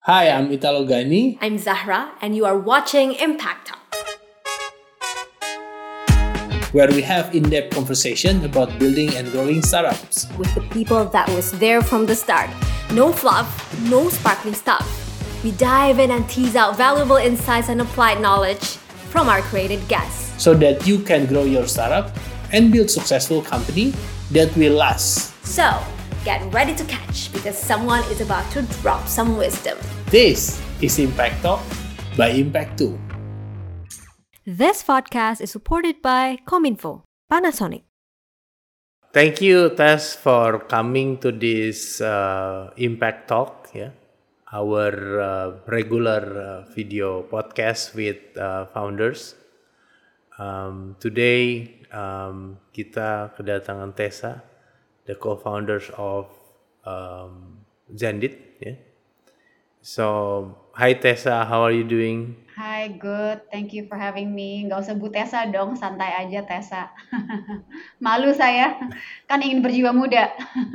Hi, I'm Italo Gani. I'm Zahra, and you are watching Impact Talk, where we have in-depth conversation about building and growing startups. with the people that was there from the start. No fluff, no sparkling stuff. We dive in and tease out valuable insights and applied knowledge from our created guests. So that you can grow your startup and build successful company that will last. So, get ready to catch because someone is about to drop some wisdom. This is Impact Talk by Impact 2. This podcast is supported by Cominfo, Panasonic. Thank you, Tess, for coming to this Impact Talk, our regular video podcast with founders. Today, kita kedatangan Tessa, the co-founders of Zendit. So, hi Tessa, how are you doing? Hi, good. Thank you for having me. Nggak usah Bu Tessa dong, santai aja Tessa. Malu saya, kan ingin berjiwa muda.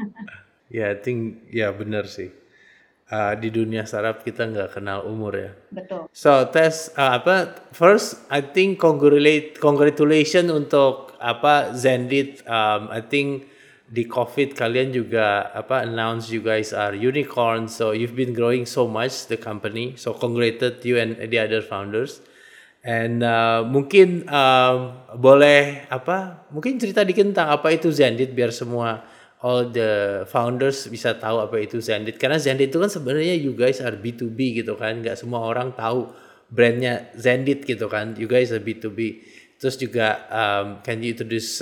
I think benar sih. Di dunia startup kita nggak kenal umur ya. Betul. So Tess, first I think congratulations untuk Zendit. I think di COVID kalian juga announce you guys are unicorn. So you've been growing so much the company. So congratulations you and the other founders. And mungkin boleh mungkin cerita dikit tentang apa itu Zendit biar semua all the founders bisa tahu apa itu Zendit. Karena Zendit itu kan sebenarnya you guys are B2B gitu kan. Nggak semua orang tahu brandnya Zendit gitu kan. You guys are B2B. Terus juga can you introduce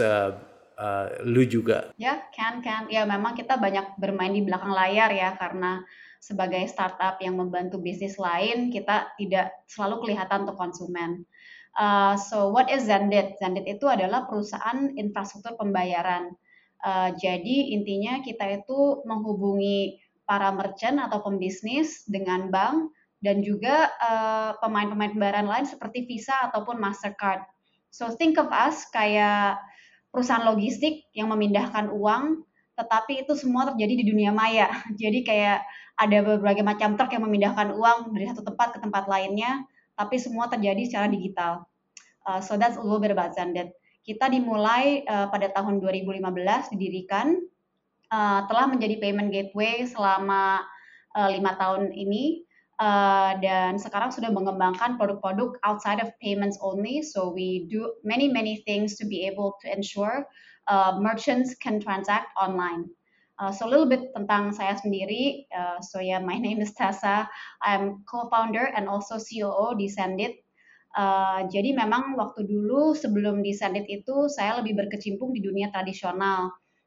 lu juga? Ya, can. Ya, memang kita banyak bermain di belakang layar ya, karena sebagai startup yang membantu bisnis lain, kita tidak selalu kelihatan untuk konsumen. So, what is Zendit? Zendit itu adalah perusahaan infrastruktur pembayaran. Jadi, intinya kita itu menghubungi para merchant atau pembisnis dengan bank dan juga pemain-pemain pembayaran lain seperti Visa ataupun Mastercard. So, think of us kayak perusahaan logistik yang memindahkan uang, tetapi itu semua terjadi di dunia maya. Jadi kayak ada berbagai macam truk yang memindahkan uang dari satu tempat ke tempat lainnya, tapi semua terjadi secara digital. So that's a little bit about Zendit. Kita dimulai pada tahun 2015 didirikan, telah menjadi payment gateway selama 5 tahun ini. Dan sekarang sudah mengembangkan produk-produk outside of payments only. So we do many things to be able to ensure merchants can transact online. So a little bit tentang saya sendiri. My name is Tessa. I'm co-founder and also COO di Zendit. Jadi memang waktu dulu sebelum di Zendit itu saya lebih berkecimpung di dunia tradisional.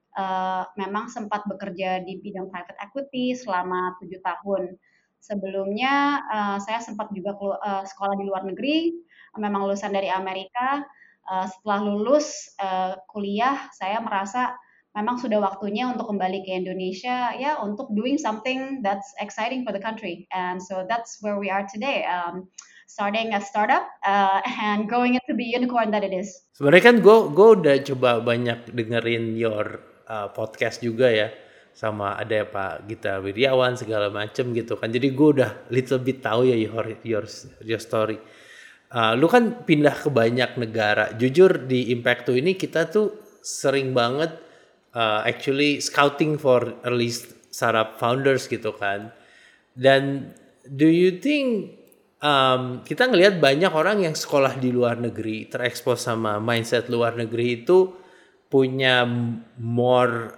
Memang sempat bekerja di bidang private equity selama 7 tahun. Sebelumnya saya sempat juga sekolah di luar negeri, memang lulusan dari Amerika. Setelah lulus kuliah, saya merasa memang sudah waktunya untuk kembali ke Indonesia, untuk doing something that's exciting for the country. And so that's where we are today, starting a startup and growing it to be unicorn that it is. Sebenarnya kan gue udah coba banyak dengerin your podcast juga ya. Sama ada Pak Gita Wirjawan segala macem gitu kan. Jadi gue udah little bit tahu ya your story. Lu kan pindah ke banyak negara. Jujur di Impact 2 ini kita tuh sering banget actually scouting for early startup founders gitu kan. Dan do you think kita ngelihat banyak orang yang sekolah di luar negeri terekspos sama mindset luar negeri itu punya more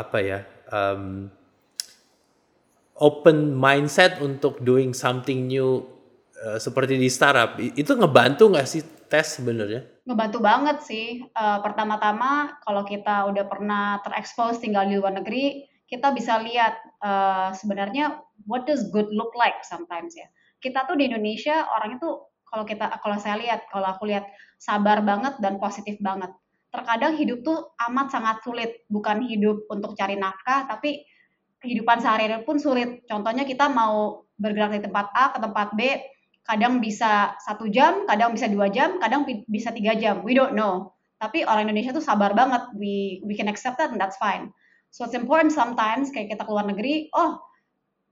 open mindset untuk doing something new seperti di startup. Itu ngebantu nggak sih Tess sebenarnya? Ngebantu banget sih. Pertama-tama kalau kita udah pernah terekspos tinggal di luar negeri, kita bisa lihat sebenarnya what does good look like sometimes ya. Kita tuh di Indonesia orang itu kalau aku lihat sabar banget dan positif banget. Terkadang hidup tuh amat sangat sulit, bukan hidup untuk cari nafkah, tapi kehidupan sehari-hari pun sulit. Contohnya kita mau bergerak dari tempat A ke tempat B, kadang bisa 1 jam, kadang bisa 2 jam, kadang bisa 3 jam. We don't know. Tapi orang Indonesia tuh sabar banget. We can accept that and that's fine. So it's important sometimes kayak kita keluar negeri,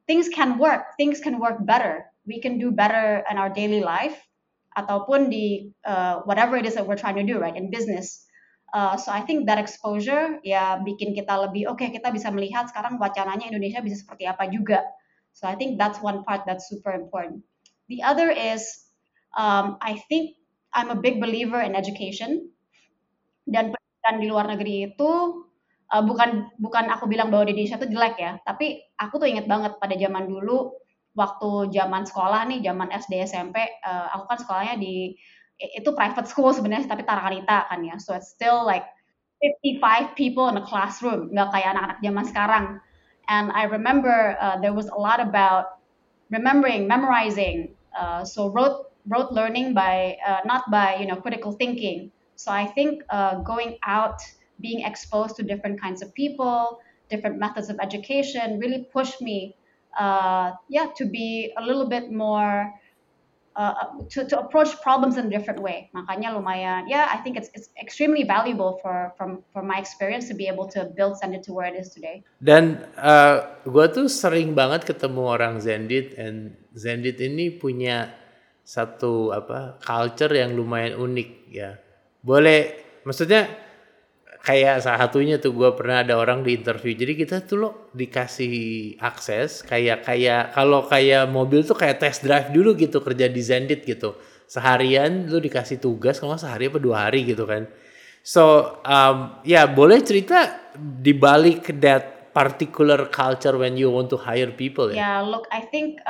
things can work better. We can do better in our daily life ataupun di whatever it is that we're trying to do, right, in business. So I think that exposure ya bikin kita lebih oke, kita bisa melihat sekarang wacananya Indonesia bisa seperti apa juga. So I think that's one part that's super important. The other is I think I'm a big believer in education, dan pendidikan di luar negeri itu bukan bukan aku bilang bahwa di Indonesia itu jelek ya, tapi aku tuh inget banget pada zaman dulu waktu zaman sekolah nih, zaman SD SMP, aku kan sekolahnya di itu private school sebenarnya tapi Tarakanita kan ya, so it's still like 55 people in a classroom, nggak kayak anak-anak zaman sekarang. And I remember there was a lot about memorizing, so rote learning by not by critical thinking. So I think going out, being exposed to different kinds of people, different methods of education, really pushed me, to be a little bit more to approach problems in a different way. Makanya lumayan, I think it's extremely valuable for my experience to be able to build Sendit to where it is today. Dan gue tuh sering banget ketemu orang Zendit, and Zendit ini punya satu culture yang lumayan unik ya. Boleh, maksudnya kayak salah satunya tuh gue pernah ada orang di interview. Jadi kita tuh lo dikasih akses kayak kalau kayak mobil tuh kayak test drive dulu gitu kerja di Zendit gitu. Seharian lu dikasih tugas kalau sehari apa 2 hari gitu kan. So boleh cerita di balik that particular culture when you want to hire people ya? Yeah, look, I think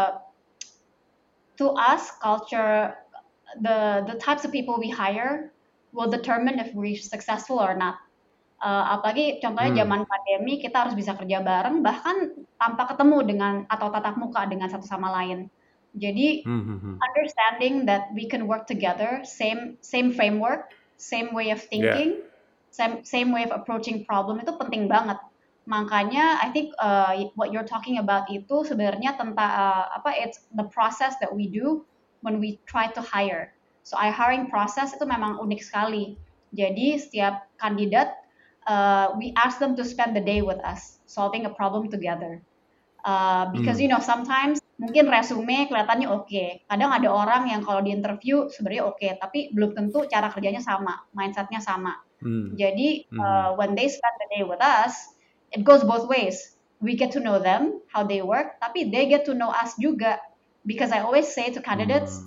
to us, culture, the types of people we hire will determine if we're successful or not. Apalagi contohnya zaman pandemi, kita harus bisa kerja bareng, bahkan tanpa ketemu dengan atau tatap muka dengan satu sama lain. Jadi understanding that we can work together, same framework, same way of thinking, same way of approaching problem itu penting banget. Makanya I think what you're talking about itu sebenarnya tentang it's the process that we do when we try to hire. So our hiring process itu memang unik sekali. Jadi setiap kandidat we ask them to spend the day with us solving a problem together. Because sometimes mungkin resume kelihatannya oke. Kadang ada orang yang kalau di interview sebenarnya oke, tapi belum tentu cara kerjanya sama, mindsetnya sama. Jadi when they spend the day with us, it goes both ways. We get to know them, how they work, tapi they get to know us juga. Because I always say to candidates,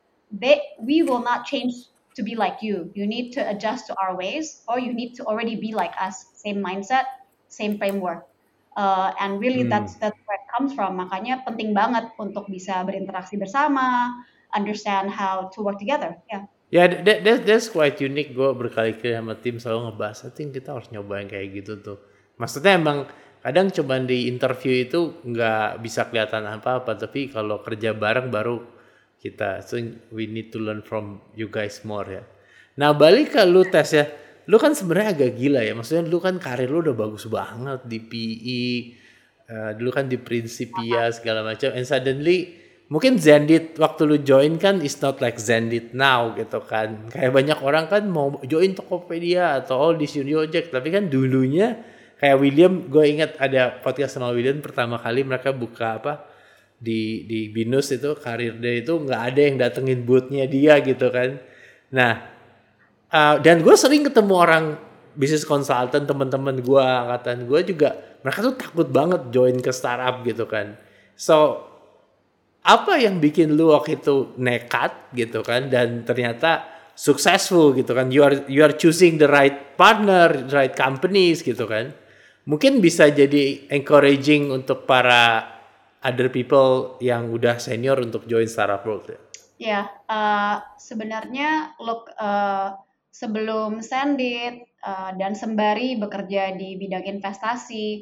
we will not change to be like you. You need to adjust to our ways, or you need to already be like us. Same mindset, same framework. And really that's where it comes from. Makanya penting banget untuk bisa berinteraksi bersama, understand how to work together. Yeah, that's quite unique. Gue berkali-kali sama tim selalu ngebahas, I think kita harus nyobain kayak gitu tuh. Maksudnya emang kadang cuman di interview itu nggak bisa kelihatan apa-apa, tapi kalau kerja bareng baru kita, so we need to learn from you guys more ya. Nah balik ke lu tes ya, lu kan sebenarnya agak gila ya, maksudnya lu kan karir lu udah bagus banget di PE, dulu kan di Principia segala macam, and suddenly mungkin Zendit waktu lu join kan is not like Zendit now gitu kan, kayak banyak orang kan mau join Tokopedia atau all this Uniject, tapi kan dulunya kayak William, gue ingat ada podcast sama William pertama kali mereka buka di Binus itu karir dia itu nggak ada yang datengin boothnya dia gitu kan. Nah dan gue sering ketemu orang bisnis konsultan, teman-teman gue angkatan gue juga, mereka tuh takut banget join ke startup gitu kan. So apa yang bikin lu waktu itu nekat gitu kan dan ternyata successful gitu kan, you are choosing the right partner, right companies gitu kan. Mungkin bisa jadi encouraging untuk para other people yang udah senior untuk join startup world ya? Ya, sebenarnya look, sebelum Sendit dan sembari bekerja di bidang investasi,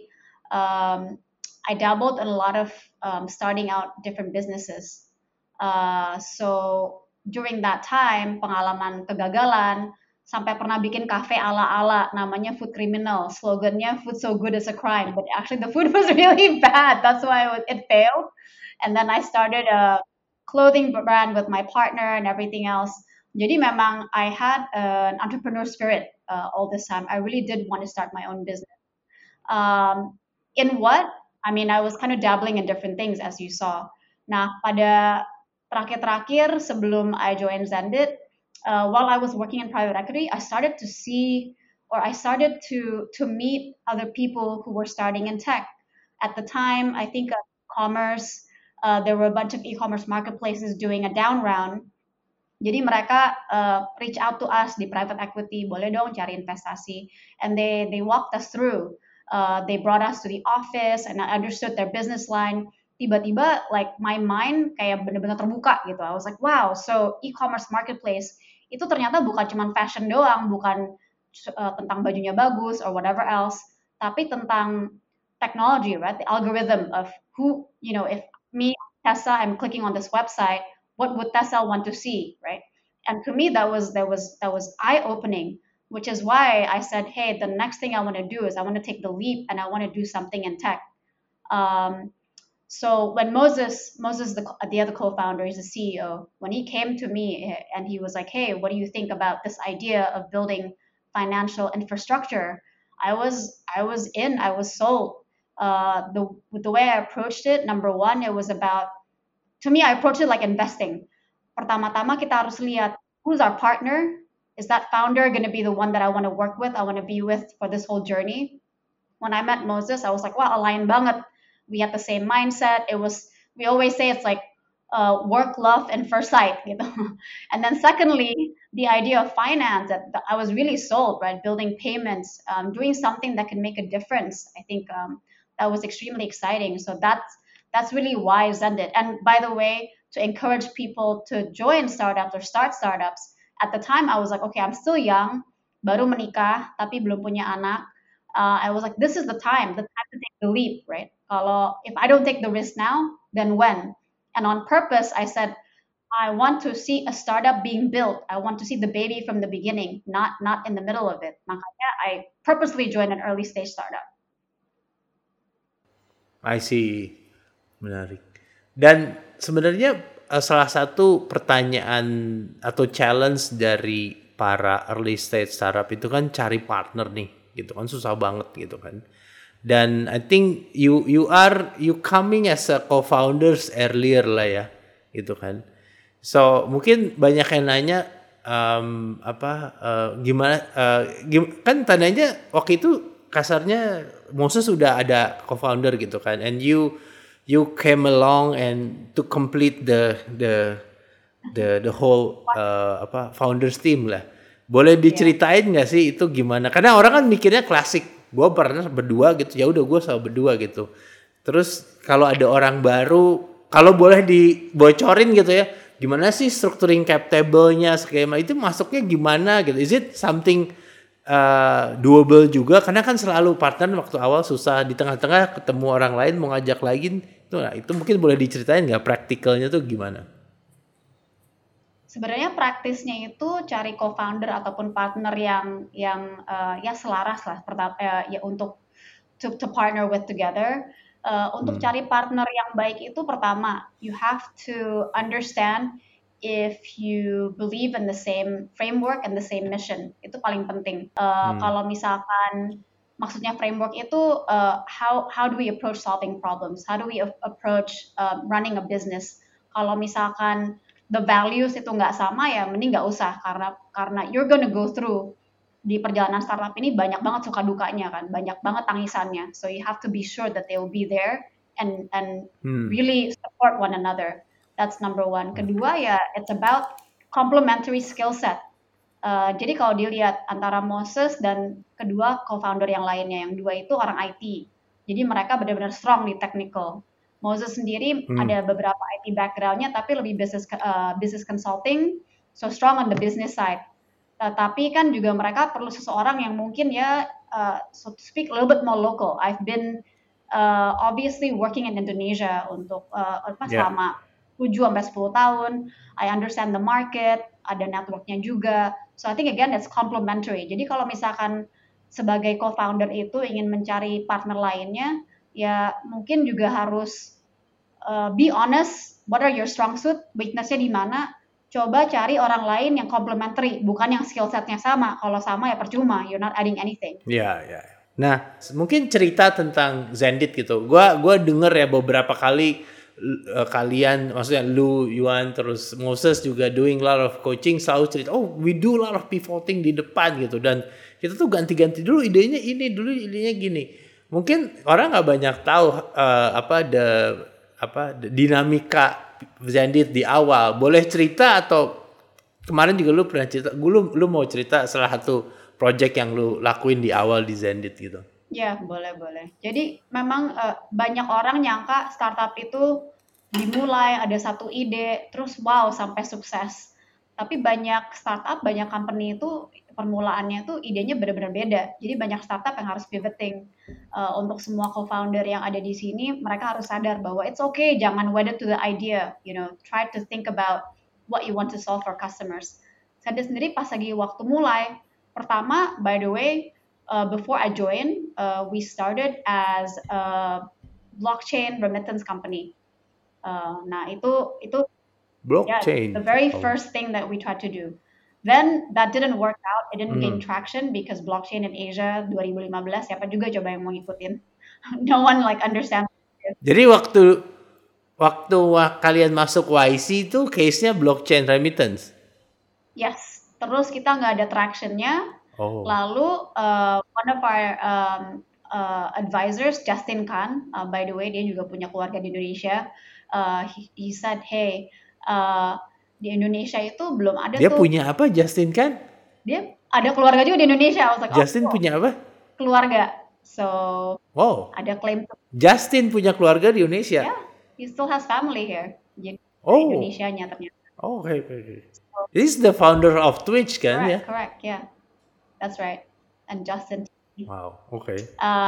I dabbled in a lot of starting out different businesses. So during that time, pengalaman kegagalan, sampai pernah bikin kafe ala-ala namanya Food Criminal, slogannya food so good is a crime, but actually the food was really bad, that's why it failed. And then I started a clothing brand with my partner and everything else. Jadi memang I had an entrepreneur spirit all this time. I really did want to start my own business. In what I mean, I was kind of dabbling in different things as you saw. Nah, pada terakhir-terakhir sebelum I joined Zendit, while I was working in private equity, I started to see, or I started to meet other people who were starting in tech. At the time, I think commerce, there were a bunch of e-commerce marketplaces doing a down round. Jadi mereka reach out to us di private equity, boleh dong cari investasi, and they walked us through. They brought us to the office, and I understood their business line. Tiba-tiba, like my mind kayak bener-bener terbuka gitu. I was like, wow, so e-commerce marketplace itu ternyata bukan cuma fashion doang, bukan tentang bajunya bagus or whatever else, tapi tentang technology, right? The algorithm of who, you know, if me, Tessa, I'm clicking on this website, what would Tessa want to see, right? And to me, that was eye-opening, which is why I said, hey, the next thing I want to do is I want to take the leap and I want to do something in tech. So when Moses, the other co-founder, he's the CEO, when he came to me and he was like, hey, what do you think about this idea of building financial infrastructure? I was sold. The way I approached it, number one, it was about, to me, I approached it like investing. Pertama-tama kita harus lihat who's our partner. Is that founder going to be the one that I want to work with, I want to be with for this whole journey? When I met Moses, I was like, wow, align banget. We had the same mindset. We always say it's like work, love, and first sight. You know? And then secondly, the idea of finance, that I was really sold, right? Building payments, doing something that can make a difference. I think that was extremely exciting. So that's really why Zendit. And by the way, to encourage people to join startups or start startups, at the time I was like, okay, I'm still young, baru menikah, tapi belum punya anak. I was like, this is the time to take the leap, right? If I don't take the risk now, then when? And on purpose, I said, I want to see a startup being built. I want to see the baby from the beginning, not in the middle of it. Makanya I purposely joined an early stage startup. I see. Menarik. Dan sebenarnya salah satu pertanyaan atau challenge dari para early stage startup itu kan cari partner nih, gitu kan, susah banget gitu kan. Dan I think you coming as a co-founders earlier lah ya, gitu kan. So mungkin banyak yang nanya gimana kan tandanya waktu itu kasarnya Moses sudah ada co-founder gitu kan, and you came along and to complete the whole founders team lah. Boleh diceritain nggak sih itu gimana? Karena orang kan mikirnya klasik, gue pernah berdua gitu, ya udah gue selalu berdua gitu. Terus kalau ada orang baru, kalau boleh dibocorin gitu ya, gimana sih structuring cap table-nya, skema itu masuknya gimana gitu? Is it something doable juga? Karena kan selalu partner waktu awal susah, di tengah-tengah ketemu orang lain mau ngajak lagi, itu mungkin boleh diceritain nggak praktikalnya tuh gimana? Sebenarnya praktisnya itu cari co-founder ataupun partner yang ya selaras lah, ya untuk to partner with together. Untuk cari partner yang baik itu pertama, you have to understand if you believe in the same framework and the same mission. Itu paling penting. Kalau misalkan maksudnya framework itu how do we approach solving problems? How do we approach running a business? Kalau misalkan the values itu nggak sama, ya mending nggak usah, karena you're gonna go through di perjalanan startup ini banyak banget suka dukanya kan, banyak banget tangisannya. So you have to be sure that they will be there and really support one another. That's number one. Kedua ya, it's about complementary skill set. Jadi kalau dilihat antara Moses dan kedua co-founder yang lainnya, yang dua itu orang IT. Jadi mereka benar-benar strong di technical. Moses sendiri ada beberapa IT background-nya, tapi lebih business consulting, so strong on the business side. Tapi kan juga mereka perlu seseorang yang mungkin ya, so to speak, a little bit more local. I've been obviously working in Indonesia untuk selama 7-10 tahun. I understand the market, ada network-nya juga. So I think again that's complementary. Jadi kalau misalkan sebagai co-founder itu ingin mencari partner lainnya, ya mungkin juga harus be honest, what are your strong suit, weakness-nya di mana, coba cari orang lain yang complementary, bukan yang skill set-nya sama. Kalau sama ya percuma, you're not adding anything. Yeah. Nah, mungkin cerita tentang Zendit gitu. Gua denger ya beberapa kali kalian, maksudnya lu, Yuan, terus Moses juga doing a lot of coaching, selalu cerita, oh we do a lot of pivoting di depan gitu, dan kita tuh ganti-ganti dulu idenya ini, dulu idenya gini. Mungkin orang nggak banyak tahu dinamika Zendit di awal. Boleh cerita, atau kemarin juga lu pernah cerita, lu mau cerita salah satu project yang lu lakuin di awal di Zendit gitu. Ya, boleh. Jadi memang banyak orang nyangka startup itu dimulai ada satu ide, terus wow sampai sukses. Tapi banyak startup, banyak company itu permulaannya tuh idenya benar-benar beda. Jadi banyak startup yang harus pivoting. Untuk semua co-founder yang ada di sini, mereka harus sadar bahwa it's okay, jangan wedded to the idea. Try to think about what you want to solve for customers. Saya sendiri pas lagi waktu mulai, pertama, by the way, before I joined, we started as a blockchain remittance company. Nah, itu Blockchain. the very first thing that we tried to do. Then that didn't work out. It didn't gain traction because blockchain in Asia 2015 siapa juga coba yang mau ngikutin. No one understands. Jadi waktu kalian masuk YC itu case-nya blockchain remittance. Yes. Terus kita nggak ada tractionnya. Oh. Lalu one of our advisors, Justin Khan, by the way dia juga punya keluarga di Indonesia. He said, hey, di Indonesia itu belum ada Dia punya apa, Justin Khan? Dia ada keluarga juga di Indonesia. I was like, Justin punya apa? Keluarga. So, wow. Ada klaim. Justin punya keluarga di Indonesia? Yeah, he still has family here. Jadi Indonesianya ternyata. Oh, okay. So, he's the founder of Twitch kan? Correct, yeah. That's right. And Justin. Wow, okay.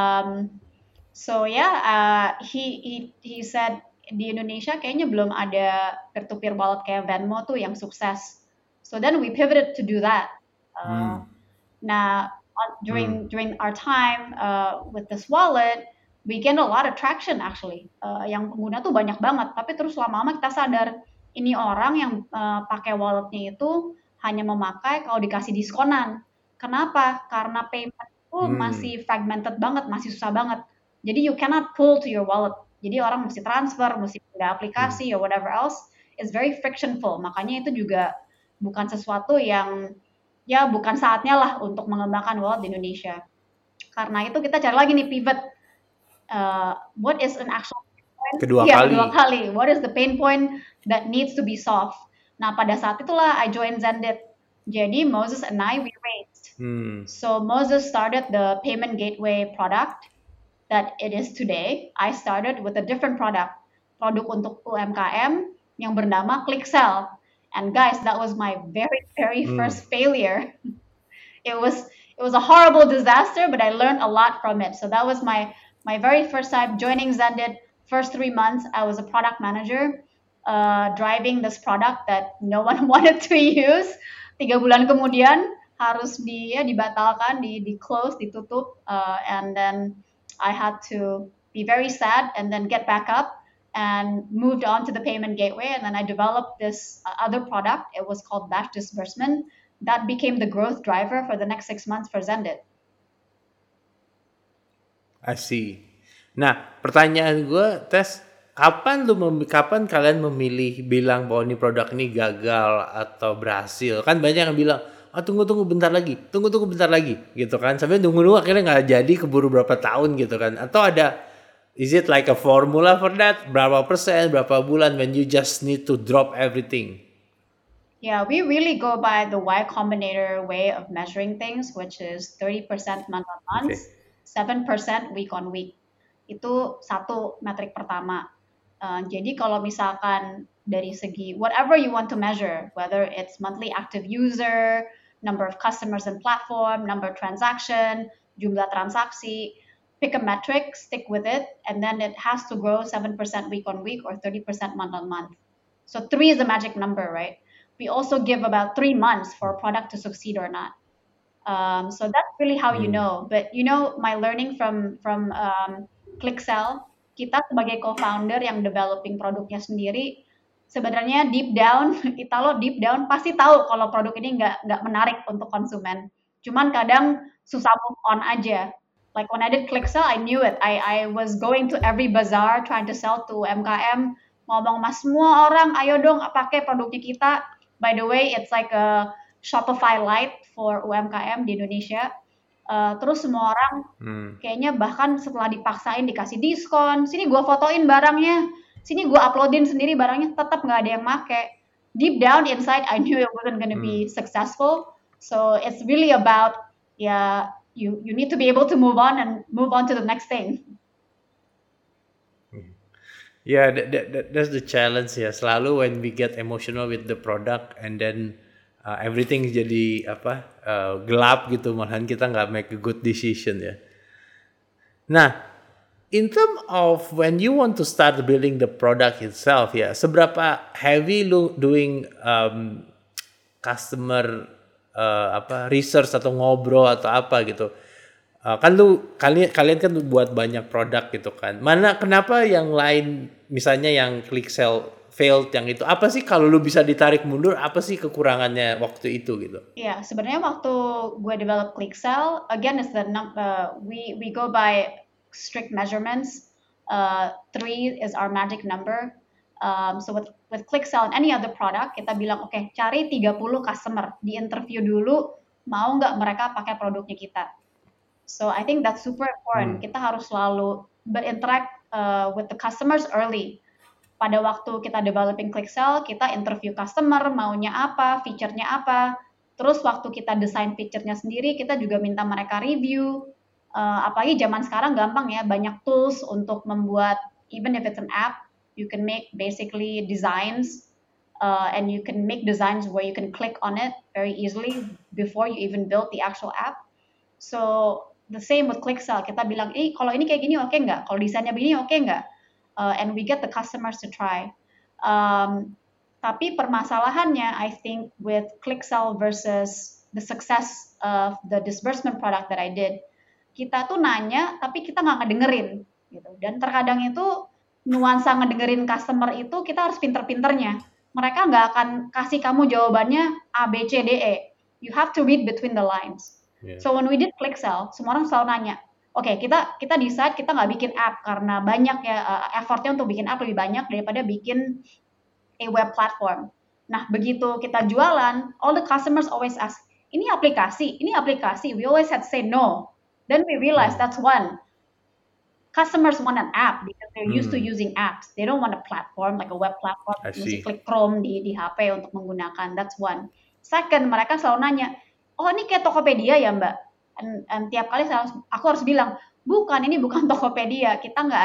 So yeah, he said di Indonesia kayaknya belum ada peer-to-peer wallet kayak Venmo tuh yang sukses. So then we pivoted to do that. Nah, during our time with this wallet, we gained a lot of traction actually. Yang pengguna tuh banyak banget. Tapi terus lama-lama kita sadar ini orang yang pakai walletnya itu hanya memakai kalau dikasih diskonan. Kenapa? Karena payment itu masih fragmented banget, masih susah banget. Jadi you cannot pull to your wallet. Jadi orang mesti transfer, mesti pindah aplikasi or whatever else. It's very frictionful. Makanya itu juga bukan sesuatu yang bukan saatnya lah untuk mengembangkan wallet di Indonesia. Karena itu kita cari lagi nih pivot. What is an actual pain point? Kedua kali. What is the pain point that needs to be solved? Nah, pada saat itulah I joined Zendit. Jadi Moses and I, we raised. So Moses started the payment gateway product that it is today. I started with a different product untuk UMKM yang bernama ClickSell. And guys, that was my very first failure. It was a horrible disaster, but I learned a lot from it. So that was my very first time joining Zendit. First 3 months, I was a product manager, driving this product that no one wanted to use. 3 bulan kemudian harus dibatalkan, di close, ditutup, and then I had to be very sad and then get back up and moved on to the payment gateway. And then I developed this other product. It was called Batch Disbursement. That became the growth driver for the next 6 months for Zendit. I see. Nah, pertanyaan gue, Tess, kapan kalian memilih bilang bahwa ini produk ini gagal atau berhasil? Kan banyak yang bilang, tunggu bentar lagi, gitu kan, sampai nunggu akhirnya nggak jadi, keburu berapa tahun gitu kan, atau ada, is it like a formula for that, berapa persen, berapa bulan, when you just need to drop everything? Yeah, we really go by the Y Combinator way of measuring things, which is 30% month on month, 7% week on week. Itu satu metrik pertama. Jadi kalau misalkan dari segi whatever you want to measure, whether it's monthly active user, number of customers and platform, number of transaction, jumlah transaksi, pick a metric, stick with it, and then it has to grow 7% week on week or 30% month on month. So 3 is the magic number, right? We also give about 3 months for a product to succeed or not. So that's really how you know. But my learning from ClickSell, kita sebagai co-founder yang developing produknya sendiri, sebenarnya deep down pasti tahu kalau produk ini nggak menarik untuk konsumen. Cuman kadang susah move on aja. Like when I did ClickSell, I knew it. I was going to every bazaar trying to sell to MKM, ngomong mas semua orang, ayo dong pakai produknya kita. By the way, it's like a Shopify Lite for UMKM di Indonesia. Terus semua orang kayaknya bahkan setelah dipaksain dikasih diskon, sini gue fotoin barangnya, sini gue uploadin sendiri barangnya, tetap nggak ada yang make. Deep down inside, I knew it wasn't going to be successful. So it's really about you need to be able to move on to the next thing. Yeah, that's the challenge ya. Selalu when we get emotional with the product and then everything jadi gelap gitu, malahan kita nggak make a good decision ya. Nah, in terms of when you want to start building the product itself ya, seberapa heavy lu doing customer research atau ngobrol atau apa gitu? Kan kalian kan buat banyak produk gitu kan. Kenapa yang lain misalnya yang ClickSell failed yang itu, apa sih kalau lu bisa ditarik mundur, apa sih kekurangannya waktu itu gitu? Iya, sebenarnya waktu gue develop ClickSell, again is we go by strict measurements. 3 is our magic number. So with ClickSell and any other product, kita bilang oke, cari 30 customer, di interview dulu mau nggak mereka pakai produknya kita. So I think that's super important. Kita harus selalu berinteract with the customers early. Pada waktu kita developing ClickSell, kita interview customer, maunya apa, feature-nya apa. Terus waktu kita desain feature-nya sendiri, kita juga minta mereka review. Apalagi zaman sekarang gampang ya, banyak tools untuk membuat, even if it's an app, you can make basically designs, and you can make designs where you can click on it very easily before you even build the actual app. So the same with ClickSell, kita bilang, kalau ini kayak gini oke nggak? Kalau desainnya begini oke nggak? And we get the customers to try. Tapi permasalahannya, I think with ClickSell versus the success of the disbursement product that I did, kita tuh nanya, tapi kita nggak ngedengerin. Gitu. Dan terkadang itu nuansa ngedengerin customer itu kita harus pinter-pinternya. Mereka nggak akan kasih kamu jawabannya A, B, C, D, E. You have to read between the lines. Yeah. So when we did ClickSell, semua orang selalu nanya, oke, kita decide kita nggak bikin app karena banyak ya effortnya untuk bikin app lebih banyak daripada bikin a web platform. Nah, begitu kita jualan, all the customers always ask, ini aplikasi. We always had to say no. Then we realized that's one. Customers want an app because they're used to using apps. They don't want a platform like a web platform. Mesti klik Chrome di HP untuk menggunakan. That's one. Second, mereka selalu nanya, oh ini kayak Tokopedia ya Mbak? And tiap kali aku harus bilang, ini bukan Tokopedia. Kita nggak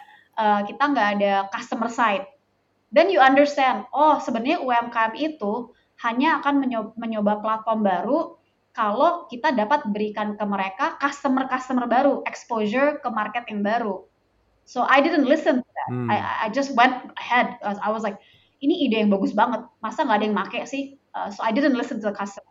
ada customer side. Then you understand, sebenarnya UMKM itu hanya akan mencoba platform baru kalau kita dapat berikan ke mereka customer baru, exposure ke market yang baru. So I didn't listen to that. I just went ahead. I was like, ini ide yang bagus banget. Masa nggak ada yang make sih? So I didn't listen to the customer.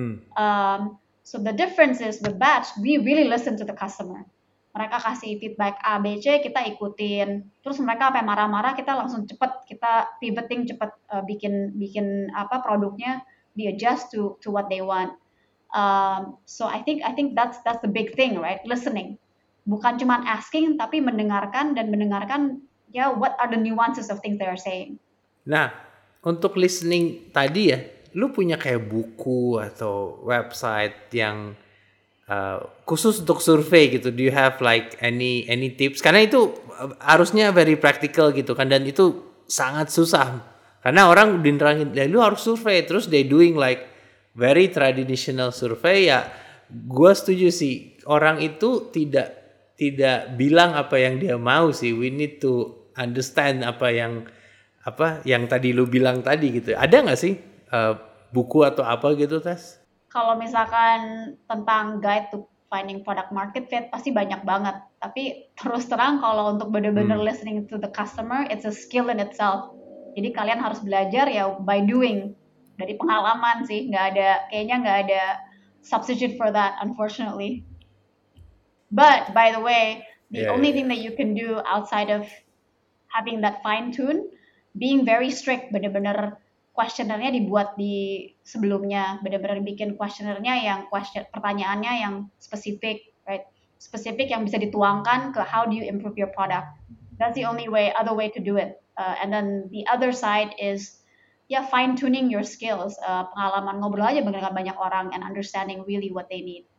So the difference is with Batch, we really listen to the customer. Mereka kasih feedback A, B, C, kita ikutin. Terus mereka apa marah-marah, kita langsung cepet, kita pivoting cepet, bikin apa produknya, di adjust to what they want. So I think that's the big thing, right? Listening. Bukan cuma asking, tapi mendengarkan ya what are the nuances of things they are saying. Nah, untuk listening tadi ya, lu punya kayak buku atau website yang khusus untuk survei gitu? Do you have like any tips? Karena itu harusnya very practical gitu kan, dan itu sangat susah. Karena orang dinerangin, ya lu harus survei, terus they doing like very traditional survey ya. Gua setuju sih, orang itu tidak bilang apa yang dia mau sih. We need to understand apa yang tadi lu bilang tadi gitu. Ada nggak sih buku atau apa gitu, Tess? Kalau misalkan tentang guide to finding product market fit pasti banyak banget. Tapi terus terang kalau untuk benar-benar listening to the customer, it's a skill in itself. Jadi kalian harus belajar ya by doing, dari pengalaman sih. Kayaknya nggak ada substitute for that, unfortunately. But by the way, the only thing that you can do outside of having that fine tune, being very strict, benar-benar questionnaire-nya dibuat di sebelumnya, benar-benar bikin questionnaire-nya yang pertanyaannya yang spesifik, right? spesifik yang bisa dituangkan ke how do you improve your product. That's the only other way to do it. And then the other side is fine tuning your skills, pengalaman ngobrol aja dengan banyak orang and understanding really what they need.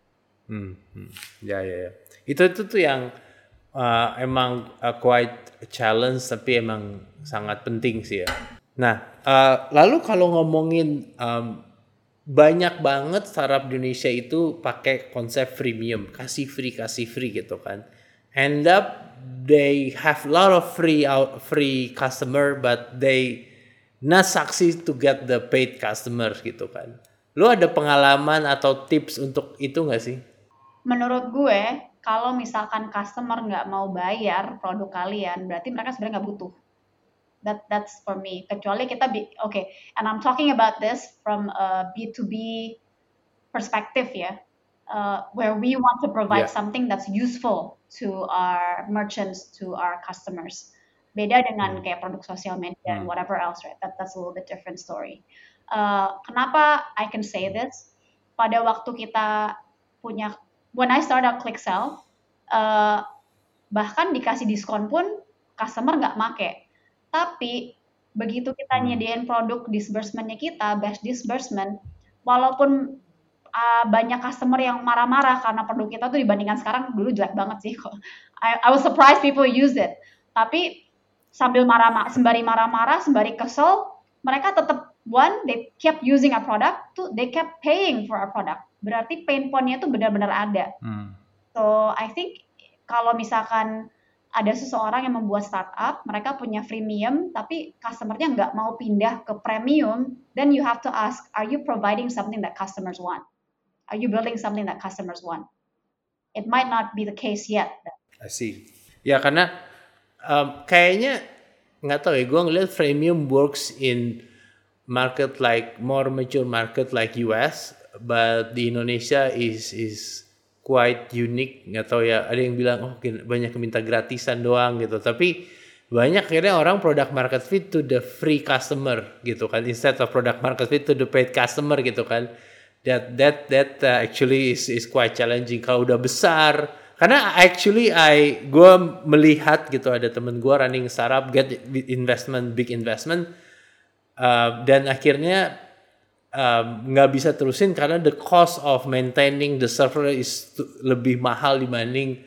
Ya. Itu tuh yang emang quite a challenge tapi emang sangat penting sih ya. Nah, lalu kalau ngomongin banyak banget startup di Indonesia itu pakai konsep freemium, kasih free gitu kan. End up they have a lot of free customer but they not succeed to get the paid customers gitu kan. Lu ada pengalaman atau tips untuk itu nggak sih? Menurut gue, kalau misalkan customer nggak mau bayar produk kalian, berarti mereka sebenarnya nggak butuh. That's for me. Kecuali kita and I'm talking about this from a B2B perspective ya, where we want to provide something that's useful to our merchants, to our customers. Beda dengan kayak produk sosial media and whatever else, right? That's a little bit different story. Kenapa I can say this? Pada waktu kita punya, when I started ClickSell, bahkan dikasih diskon pun customer nggak make. Tapi begitu kita nyediain produk disbursement-nya kita, batch disbursement, walaupun banyak customer yang marah-marah karena produk kita tuh dibandingkan sekarang dulu jelek banget sih kok. I was surprised people use it. Tapi sembari marah-marah, sembari kesel, mereka tetap they kept using our product, they kept paying for our product. Berarti pain point-nya tuh benar-benar ada. So I think kalau misalkan ada seseorang yang membuat startup, mereka punya freemium, tapi customer-nya nggak mau pindah ke premium, then you have to ask, are you providing something that customers want? Are you building something that customers want? It might not be the case yet. I see. Ya karena kayaknya nggak tahu ya, gue ngeliat freemium works in market like more mature market like US, but di Indonesia is quite unique. Nggak tahu ya, ada yang bilang banyak yang minta gratisan doang gitu, tapi banyak akhirnya orang product market fit to the free customer gitu kan, instead of product market fit to the paid customer gitu kan. That actually is quite challenging kalau udah besar. Karena actually gue melihat gitu, ada temen gue running startup, get big investment, dan akhirnya nggak bisa terusin karena the cost of maintaining the server is lebih mahal dibanding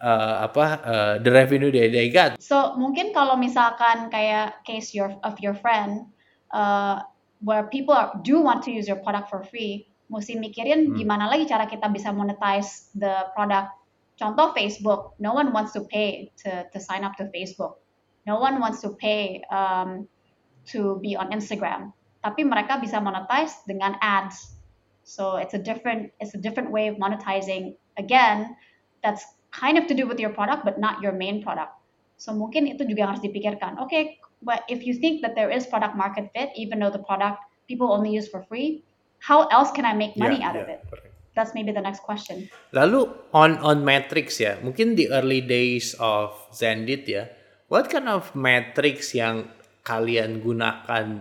the revenue they got. So mungkin kalau misalkan kayak case of your friend, where people do want to use your product for free, mesti mikirin gimana lagi cara kita bisa monetize the product. Contoh Facebook, no one wants to pay to sign up to Facebook, no one wants to pay to be on Instagram, tapi mereka bisa monetize dengan ads. So it's a different way of monetizing. Again, that's kind of to do with your product, but not your main product. So mungkin itu juga harus dipikirkan. Okay, but if you think that there is product market fit, even though the product people only use for free, how else can I make money out of it? Correct. That's maybe the next question. Lalu on metrics ya, mungkin the early days of Zendit ya, what kind of metrics yang kalian gunakan?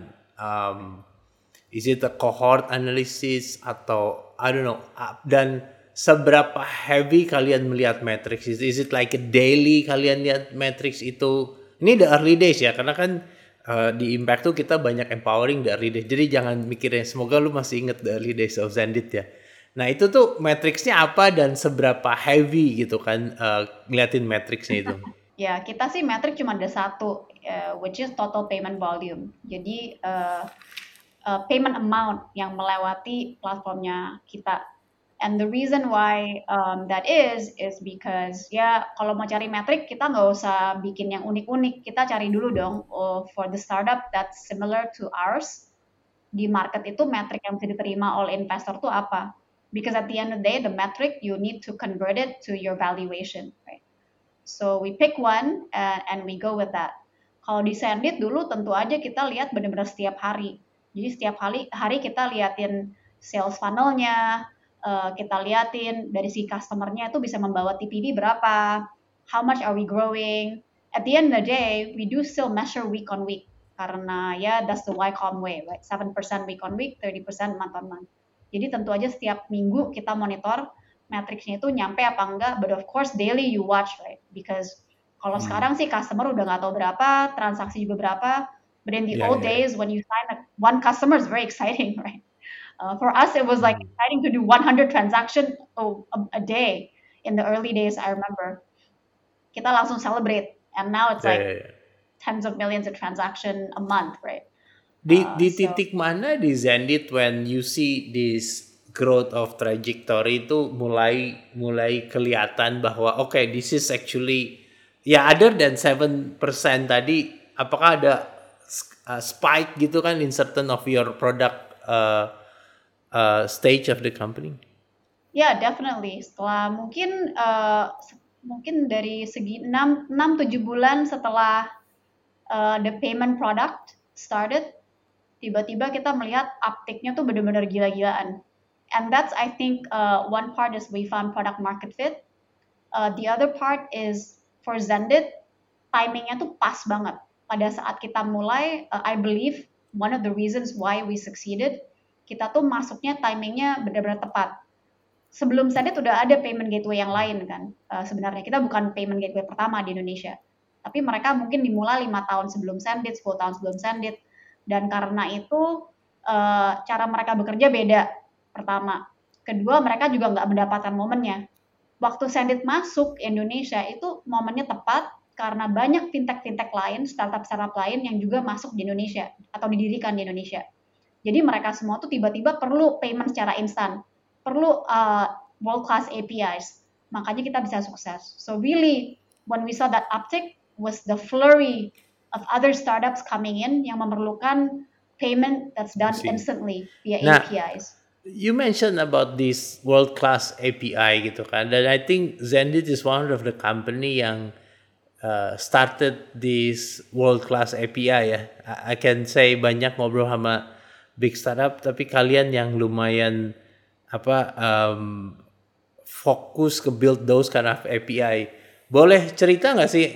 Is it a cohort analysis atau I don't know? Dan seberapa heavy kalian melihat metrics? Is it like a daily kalian lihat metrics itu? Ini the early days ya, karena kan di Impact tuh kita banyak empowering the early days. Jadi jangan mikirin, semoga lu masih inget the early days of Zendit ya. Nah itu tuh metricsnya apa dan seberapa heavy gitu kan ngeliatin metricsnya itu? Ya kita sih metrik cuma ada satu, which is total payment volume. Jadi payment amount yang melewati platformnya kita. And the reason why that is because ya kalau mau cari metrik kita nggak usah bikin yang unik-unik, kita cari dulu dong for the startup that's similar to ours di market itu metrik yang bisa diterima oleh investor tuh apa? Because at the end of the day the metric you need to convert it to your valuation, right? So we pick one and we go with that. Kalau di Zendit dulu tentu aja kita lihat benar-benar setiap hari. Jadi setiap hari kita liatin sales funnel-nya. Kita liatin dari si customer-nya itu bisa membawa TPV berapa, how much are we growing. At the end of the day, we do still measure week on week, karena ya that's the YCOM way, right? 7% week on week, 30% month on month. Jadi tentu aja setiap minggu kita monitor metricsnya itu nyampe apa enggak, but of course daily you watch, right? Because kalau sekarang sih customer udah nggak tahu berapa, transaksi juga berapa, but in the Ya, old ya, ya. days when you sign one customer is very exciting, right? For us, it was like exciting to do 100 transaction a day in the early days. I remember kita langsung celebrate, and now it's Ya, like ya, ya. tens of millions of transaction a month, right? Di So titik mana di Zenith when you see this growth of trajectory itu mulai kelihatan bahwa this is actually other than 7% tadi, apakah ada spike gitu kan in certain of your product stage of the company? yeah, definitely. Setelah mungkin dari segi 6-7 bulan setelah the payment product started, tiba-tiba kita melihat uptake-nya tuh benar-benar gila-gilaan. And that's, I think, one part is we found product market fit. The other part is for Zendit, timingnya tuh pas banget. Pada saat kita mulai, I believe one of the reasons why we succeeded, kita tuh masuknya timingnya benar-benar tepat. Sebelum Zendit udah ada payment gateway yang lain kan. Sebenarnya kita bukan payment gateway pertama di Indonesia. Tapi mereka mungkin dimulai 5 tahun sebelum Zendit, 10 tahun sebelum Zendit. Dan karena itu cara mereka bekerja beda, pertama. Kedua, mereka juga nggak mendapatkan momennya. Waktu Zendit masuk Indonesia itu momennya tepat karena banyak fintech-fintech lain, startup-startup lain yang juga masuk di Indonesia atau didirikan di Indonesia. Jadi mereka semua tuh tiba-tiba perlu payment secara instan, perlu world-class APIs. Makanya kita bisa sukses. So really, when we saw that uptick was the flurry of other startups coming in yang memerlukan payment that's done instantly via APIs. You mentioned about this world-class API gitu kan, dan I think Zendit is one of the company yang started this world-class API ya. I can say banyak ngobrol sama big startup, tapi kalian yang lumayan fokus ke build those kind of API. Boleh cerita nggak sih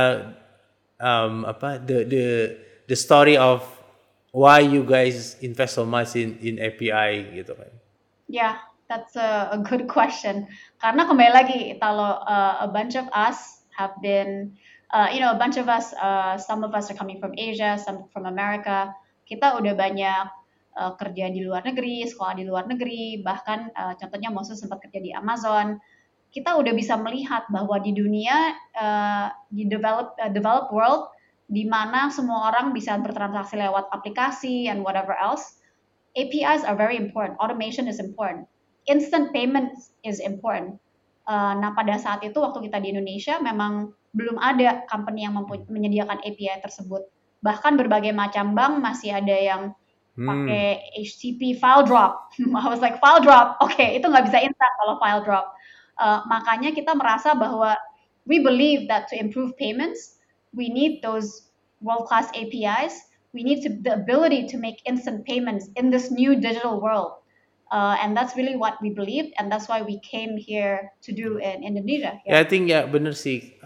the story of why you guys invest so much in API gitu kan? Yeah, that's a good question. Karena kembali lagi, kalau a bunch of us have been, a bunch of us, some of us are coming from Asia, some from America. Kita udah banyak kerja di luar negeri, sekolah di luar negeri, bahkan contohnya Moses sempat kerja di Amazon. Kita udah bisa melihat bahwa di dunia, di developed world, di mana semua orang bisa bertransaksi lewat aplikasi and whatever else, APIs are very important. Automation is important. Instant payment is important. Nah, pada saat itu waktu kita di Indonesia memang belum ada company yang menyediakan API tersebut. Bahkan berbagai macam bank masih ada yang pakai HTTP file drop. I was like, file drop? Oke, itu nggak bisa instan kalau file drop. Makanya kita merasa bahwa we believe that to improve payments, we need those world-class APIs. We need the ability to make instant payments in this new digital world. And that's really what we believed, and that's why we came here to do in Indonesia. Yeah. I think bener sih.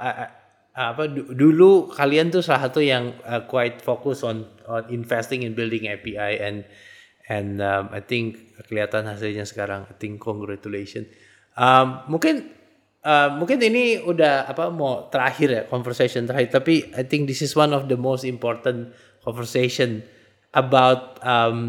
Dulu kalian tuh salah satu yang quite focus on investing in building API and I think kelihatan hasilnya sekarang. I think congratulations. Mungkin ini udah mau terakhir ya, conversation terakhir, tapi I think this is one of the most important conversation about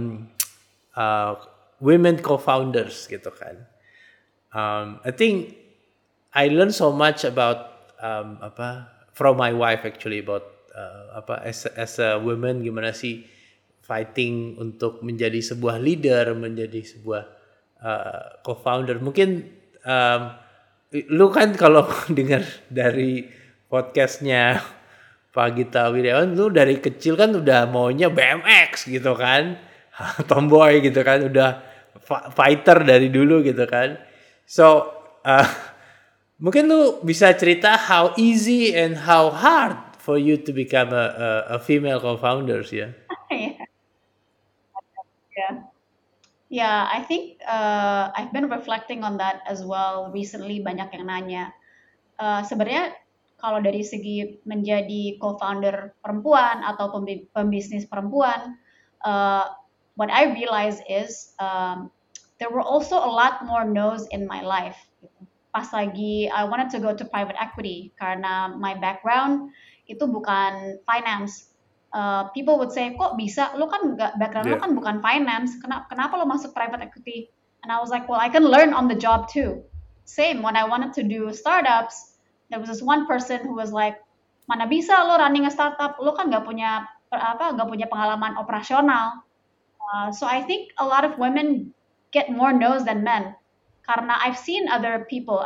women co-founders gitu kan. I think I learned so much about from my wife actually about as a woman gimana sih fighting untuk menjadi sebuah leader, menjadi sebuah co-founder. Mungkin lu kan kalau dengar dari podcastnya Pak Gita Wirjawan, lu dari kecil kan udah maunya BMX gitu kan, tomboy gitu kan, udah fighter dari dulu gitu kan. So mungkin lu bisa cerita how easy and how hard for you to become a female co-founders ya. Yeah, I think I've been reflecting on that as well recently. Banyak yang nanya. Sebenarnya kalau dari segi menjadi co-founder perempuan atau pembisnis perempuan, what I realize is there were also a lot more no's in my life. Pas lagi I wanted to go to private equity karena my background itu bukan finance. People would say, kok bisa? Lo kan nggak, background lo Yeah. kan bukan finance. Kenapa lo masuk private equity? And I was like, well, I can learn on the job too. Same when I wanted to do startups, there was this one person who was like, mana bisa lo running a startup? Lo kan nggak punya pengalaman operasional. So I think a lot of women get more no's than men. Karena I've seen other people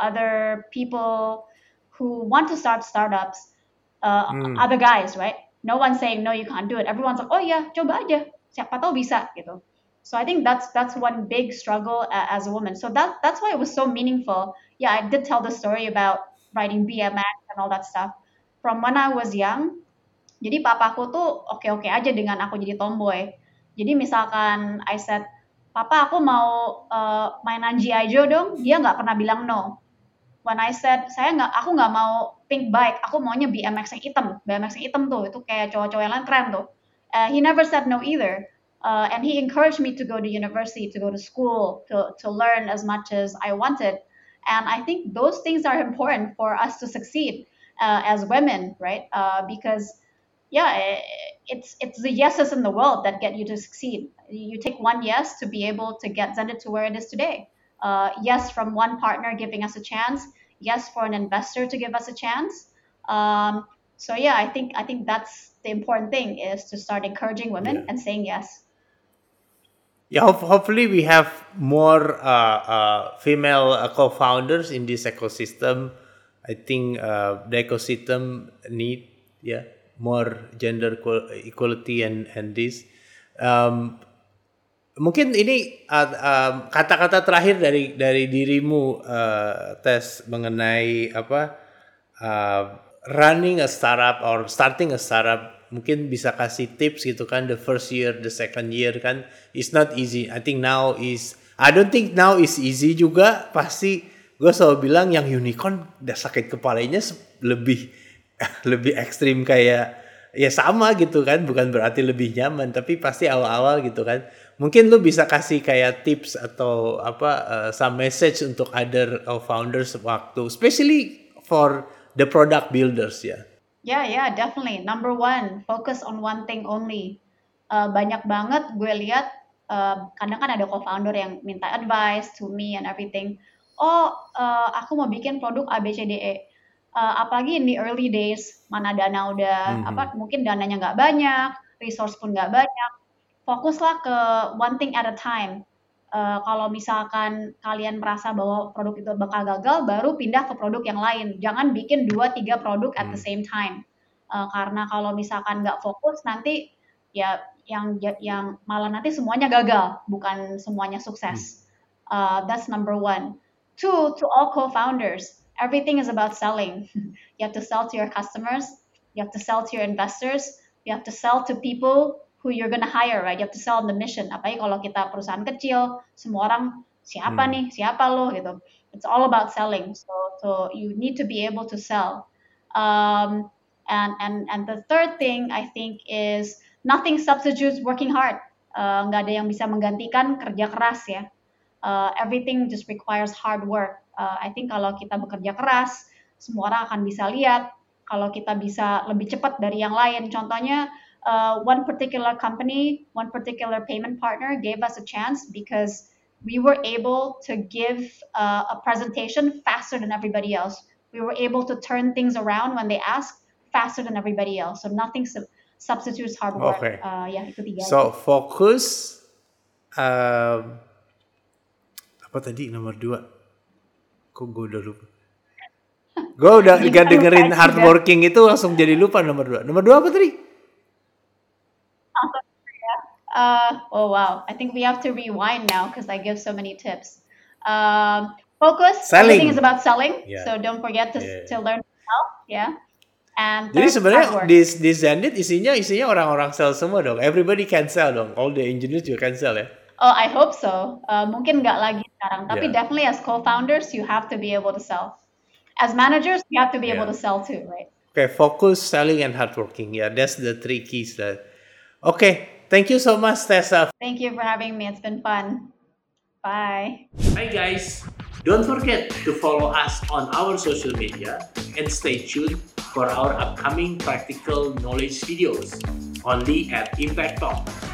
who want to start startups, other guys, right? No one's saying no, you can't do it. Everyone's like, oh yeah, coba aja, siapa tahu bisa gitu. So I think that's one big struggle as a woman. So that's why it was so meaningful. Yeah, I did tell the story about riding BMX and all that stuff from when I was young. Jadi papaku tuh oke-oke aja dengan aku jadi tomboy. Jadi misalkan I said, papa aku mau mainan G.I. Joe dong, dia nggak pernah bilang no. When I said, aku nggak mau pink bike, aku maunya BMX yang hitam. BMX yang hitam tuh, itu kayak cowok-cowok yang lain keren tuh. He never said no either. And he encouraged me to go to university, to go to school, to learn as much as I wanted. And I think those things are important for us to succeed as women, right? Because yeah, it's the yeses in the world that get you to succeed. You take one yes to be able to get Zenit to where it is today. Yes, from one partner giving us a chance. Yes, for an investor to give us a chance. So yeah, I think that's the important thing is to start encouraging women Yeah. and saying yes. Yeah, hopefully we have more female co-founders in this ecosystem. I think the ecosystem need more gender equality and this. Mungkin ini kata-kata terakhir dari dirimu, Tess, mengenai running a startup or starting a startup. Mungkin bisa kasih tips gitu kan, the first year, the second year kan, it's not easy. I don't think now is easy juga. Pasti gue selalu bilang yang unicorn udah sakit kepalanya lebih ekstrim, kayak ya sama gitu kan, bukan berarti lebih nyaman, tapi pasti awal-awal gitu kan. Mungkin lu bisa kasih kayak tips atau some message untuk other founders waktu, especially for the product builders ya. Yeah, definitely. Number one, focus on one thing only. Banyak banget gue lihat, kadang kan ada co-founder yang minta advice to me and everything. Aku mau bikin produk ABCDE. Apalagi in the early days, mana dana udah, mungkin dananya nggak banyak, resource pun nggak banyak. Fokuslah ke one thing at a time. Kalau misalkan kalian merasa bahwa produk itu bakal gagal, baru pindah ke produk yang lain. Jangan bikin 2-3 produk at the same time. Karena kalau misalkan nggak fokus, nanti ya yang malah nanti semuanya gagal, bukan semuanya sukses. That's number one. Two, to all co-founders, everything is about selling. You have to sell to your customers, you have to sell to your investors, you have to sell to people who you're gonna hire, right? You have to sell on the mission. Apalagi kalau kita perusahaan kecil, semua orang siapa lo gitu. It's all about selling. So you need to be able to sell. And the third thing I think is nothing substitutes working hard. Nggak ada yang bisa menggantikan kerja keras ya. Everything just requires hard work. I think kalau kita bekerja keras, semua orang akan bisa lihat. Kalau kita bisa lebih cepat dari yang lain. Contohnya, one particular company, one particular payment partner gave us a chance because we were able to give a presentation faster than everybody else. We were able to turn things around when they asked faster than everybody else. So nothing substitutes hard work. Okay. Ya, itu 3. So fokus. Apa tadi nomor 2? Kok gue udah lupa. Gue udah gak dengerin hardworking itu langsung jadi lupa nomor 2. Nomor 2 apa tadi? Oh wow, I think we have to rewind now because I give so many tips. Focus. Selling. Everything is about selling. Yeah. So don't forget to learn to sell. Yeah. And Jadi third, sebenarnya hard work. di Zenit isinya orang-orang sell semua dong. Everybody can sell dong. All the engineers juga can sell ya. Oh, I hope so. Mungkin nggak lagi sekarang, tapi Yeah. definitely as co-founders you have to be able to sell. As managers, you have to be able Yeah. to sell too, right? Okay, focus, selling, and hardworking. Yeah, that's the 3 keys. Okay, thank you so much, Tessa. Thank you for having me. It's been fun. Bye. Bye guys! Don't forget to follow us on our social media and stay tuned for our upcoming practical knowledge videos only at Impact Talk.